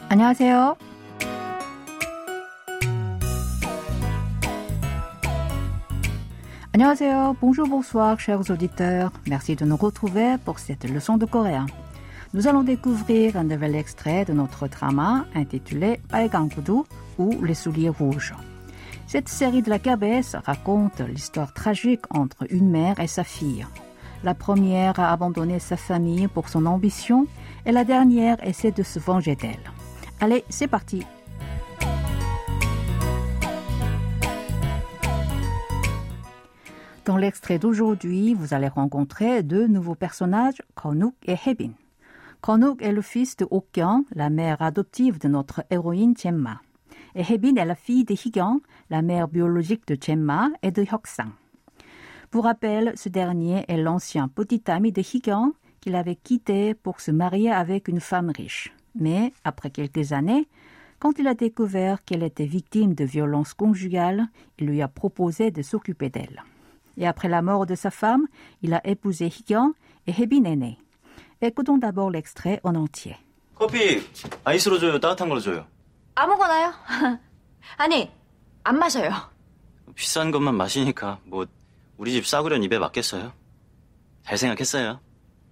안녕하세요. 안녕하세요. Bonjour, bonsoir, chers auditeurs. Merci de nous retrouver pour cette leçon de coréen. Nous allons découvrir un nouvel extrait de notre drama intitulé 빨간 구두 ou Les souliers rouges. Cette série de la KBS raconte l'histoire tragique entre une mère et sa fille. La première a abandonné sa famille pour son ambition et la dernière essaie de se venger d'elle. Allez, c'est parti! Dans l'extrait d'aujourd'hui, vous allez rencontrer deux nouveaux personnages, Konuk et Haebin. Konuk est le fils de Ok-yeon, la mère adoptive de notre héroïne Jae-ma. Et Haebin est la fille de Hee-kyung, la mère biologique de Jae-ma et de Hyuk-sang. Pour rappel, ce dernier est l'ancien petit ami de Hee-kyung qu'il avait quitté pour se marier avec une femme riche. Mais, après quelques années, quand il a découvert qu'elle était victime de violences conjugales, il lui a proposé de s'occuper d'elle. Et après la mort de sa femme, il a épousé Hee-kyung et Haebin est né. Écoutons d'abord l'extrait en entier. 커피 아이스로 줘요? 따뜻한 걸로 줘요? 아무거나요. 아니, 안 마셔요. 비싼 것만 마시니까 뭐 우리 집 싸구려는 입에 맞겠어요? 잘 생각했어요.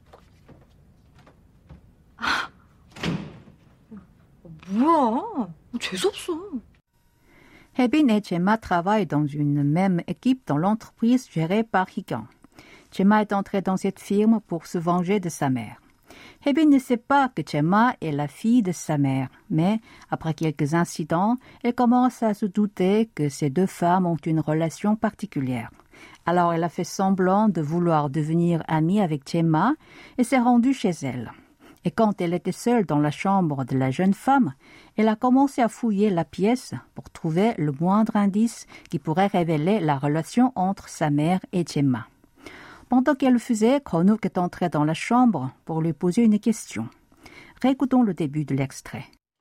뭐야? 재수없어. Haebin et Jae-ma travaillent dans une même équipe dans l'entreprise gérée par Hee-kyung. Jae-ma est entrée dans cette firme pour se venger de sa mère. Haebin ne sait pas que Jae-ma est la fille de sa mère, mais après quelques incidents, elle commence à se douter que ces deux femmes ont une relation particulière. Alors elle a fait semblant de vouloir devenir amie avec Jae-ma et s'est rendue chez elle. Et quand elle était seule dans la chambre de la jeune femme, elle a commencé à fouiller la pièce pour trouver le moindre indice qui pourrait révéler la relation entre sa mère et Jae-ma. Pendant qu'elle le faisait, Konuk est entré dans la chambre pour lui poser une question. Réécoutons le début de l'extrait.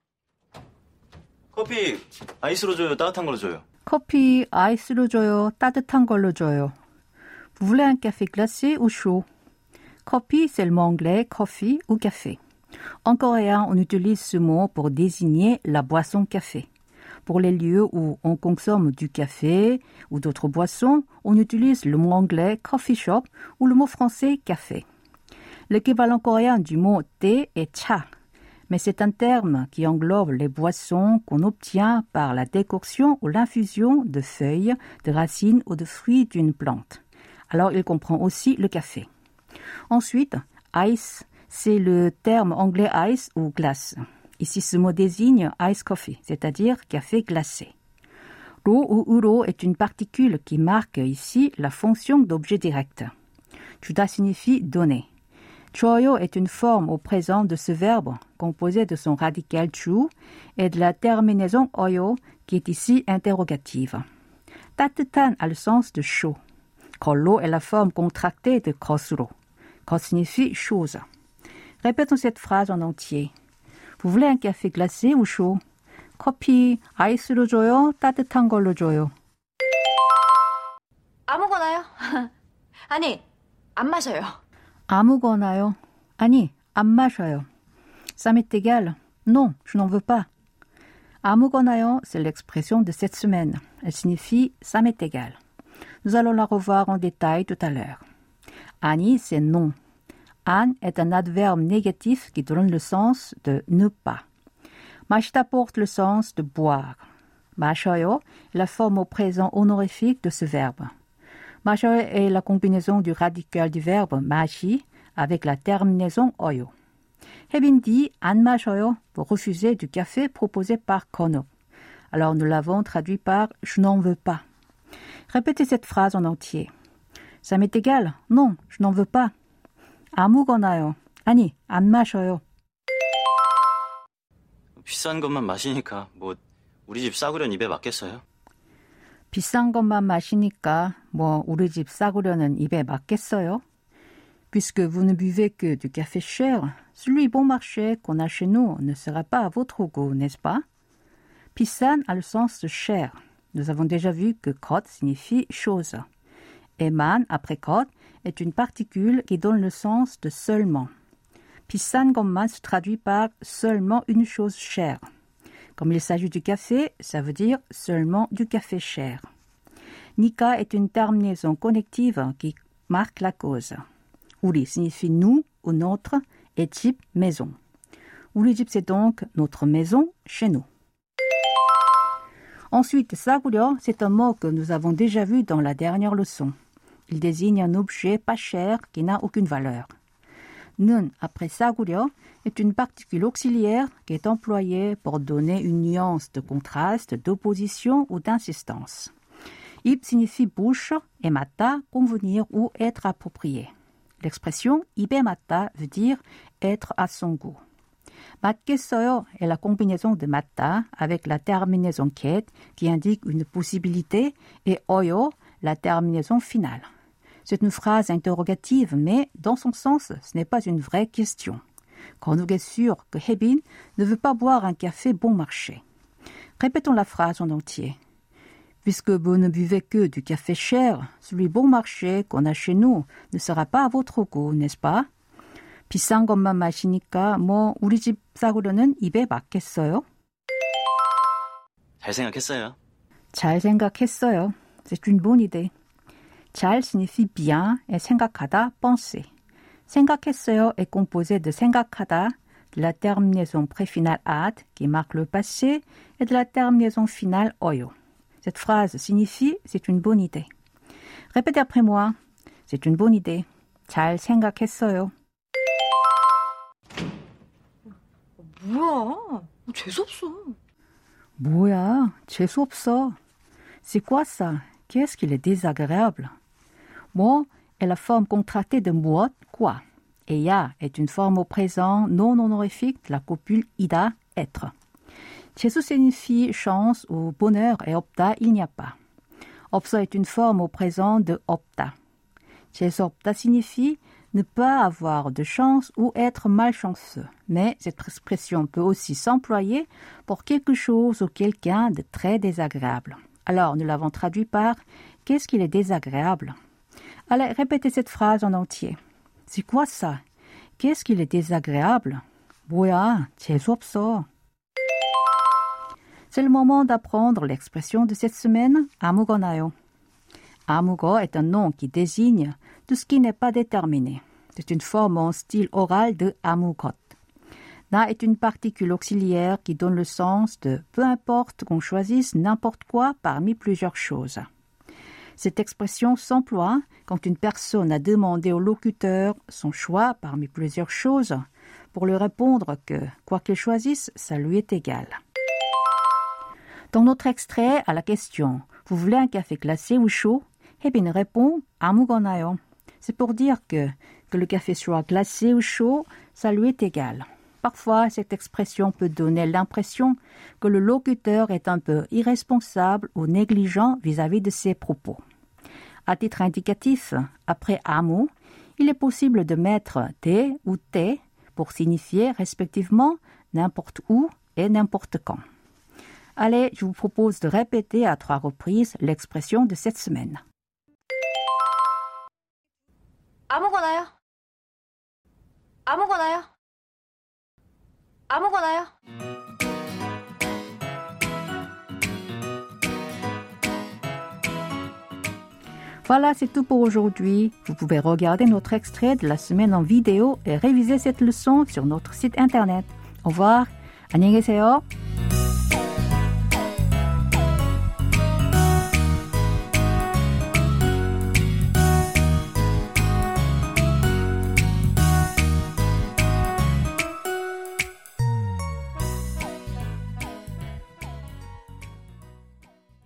커피 아이스로 줘요? 따뜻한 걸로 줘요? 커피 아이스로 줘요? 따뜻한 걸로 줘요? Vous voulez un café glacé ou chaud? Coffee, c'est le mot anglais coffee ou café. En coréen, on utilise ce mot pour désigner la boisson café. Pour les lieux où on consomme du café ou d'autres boissons, on utilise le mot anglais coffee shop ou le mot français café. L'équivalent coréen du mot thé est cha, mais c'est un terme qui englobe les boissons qu'on obtient par la décoction ou l'infusion de feuilles, de racines ou de fruits d'une plante. Alors il comprend aussi le café. Ensuite, ice, c'est le terme anglais ice ou glace. Ici, ce mot désigne ice coffee, c'est-à-dire café glacé. Ro ou uro est une particule qui marque ici la fonction d'objet direct. 주다 signifie donner. 줘요 est une forme au présent de ce verbe, composé de son radical 주 et de la terminaison 어요, qui est ici interrogative. 따뜻한 a le sens de chaud. 걸로 est la forme contractée de 것으로. 것 signifie chose. Répétons cette phrase en entier. Vous voulez un café glacé ou chaud? 커피 아이스로 줘요? 따뜻한 걸로 줘요? 아무거나요. 아니, 안 마셔요. 아무거나요? 아니, 안 마셔요. Ça m'est égal. Non, je n'en veux pas. 아무거나요, c'est l'expression de cette semaine. Elle signifie ça m'est égal. Nous allons la revoir en détail tout à l'heure. 아니, c'est non. 안 est un adverbe négatif qui donne le sens de ne pas. 마시다 porte le sens de boire. 마셔요 est la forme au présent honorifique de ce verbe. 마셔요 est la combinaison du radical du verbe 마시 avec la terminaison 어요. Haebin dit 안 마셔요 pour refuser du café proposé par Konuk. Alors nous l'avons traduit par je n'en veux pas. Répétez cette phrase en entier. Ça m'est égal. Non, je n'en veux pas. 아무거나요. 아니, 안 마셔요. 비싼 것만 마시니까 뭐 우리 집 싸구려는 입에 맞겠어요? 비싼 것만 마시니까 뭐 우리 집 싸구려는 입에 맞겠어요? Puisque vous ne buvez que du café cher, celui bon marché qu'on a chez nous ne sera pas à votre goût, n'est-ce pas? 비싼 a le sens de cher. Nous avons déjà vu que 것 signifie chose. Et man, après 것, est une particule qui donne le sens de seulement. 비싼 것만 se traduit par seulement une chose chère. Comme il s'agit du café, ça veut dire seulement du café cher. Nika est une terminaison connective qui marque la cause. 우리 signifie nous ou notre et 집 maison. 우리 집 c'est donc notre maison chez nous. Ensuite, 싸구려, c'est un mot que nous avons déjà vu dans la dernière leçon. Il désigne un objet pas cher qui n'a aucune valeur. 는, après 싸구려, est une particule auxiliaire qui est employée pour donner une nuance de contraste, d'opposition ou d'insistance. 입 signifie bouche et 맞다, convenir ou être approprié. L'expression 입에 맞다 veut dire être à son goût. 맞겠어요 est la combinaison de 맞다 avec la terminaison ket qui indique une possibilité et 어요 la terminaison finale. C'est une phrase interrogative, mais dans son sens, ce n'est pas une vraie question. Konuk est sûr que 혜빈 ne veut pas boire un café bon marché. Répétons la phrase en entier. Puisque vous ne buvez que du café cher, celui bon marché qu'on a chez nous ne sera pas à votre goût, n'est-ce pas? 비싼 것만 마시니까 우리 집 싸구려는 입에 맞겠어요? 잘 생각했어요. 잘 생각했어요. C'est une bonne idée. 잘 signifie bien et 생각하다, penser. 생각했어요 est composé de 생각하다, de la terminaison préfinale ad qui marque le passé et de la terminaison finale 어요. Cette phrase signifie c'est une bonne idée. Répétez après moi. C'est une bonne idée. 잘 생각했어요. 뭐야? 재수없어. 뭐야? 재수없어. C'est quoi ça? Qu'est-ce qu'il est désagréable? 뭐 est la forme contractée de mu엇, quoi. Et ya est une forme au présent non honorifique de la copule ida, être. 재수 signifie chance ou bonheur et 없다, il n'y a pas. 없어 est une forme au présent de 없다. 재수 없다 signifie ne pas avoir de chance ou être malchanceux. Mais cette expression peut aussi s'employer pour quelque chose ou quelqu'un de très désagréable. Alors, nous l'avons traduit par « Qu'est-ce qu'il est désagréable ?» Allez, répétez cette phrase en entier. C'est quoi ça? Qu'est-ce qu'il est désagréable? 뭐야, 재수없어. C'est le moment d'apprendre l'expression de cette semaine, 아무거나요. 아무거 est un nom qui désigne tout ce qui n'est pas déterminé. C'est une forme en style oral de 아무것. Na est une particule auxiliaire qui donne le sens de peu importe qu'on choisisse n'importe quoi parmi plusieurs choses. Cette expression s'emploie quand une personne a demandé au locuteur son choix parmi plusieurs choses pour lui répondre que, quoi qu'il choisisse, ça lui est égal. Dans notre extrait à la question « Vous voulez un café glacé ou chaud ?» 혜빈 répond « 아무거나요 ». C'est pour dire que le café soit glacé ou chaud, ça lui est égal. Parfois, cette expression peut donner l'impression que le locuteur est un peu irresponsable ou négligent vis-à-vis de ses propos. À titre indicatif, après 아무, il est possible de mettre 대 ou 때 pour signifier respectivement n'importe où et n'importe quand. Allez, je vous propose de répéter à 3 reprises l'expression de cette semaine. 아무거나요. 아무거나요. 아무거나요. Voilà, c'est tout pour aujourd'hui. Vous pouvez regarder notre extrait de la semaine en vidéo et réviser cette leçon sur notre site internet. Au revoir. 안녕히 계세요.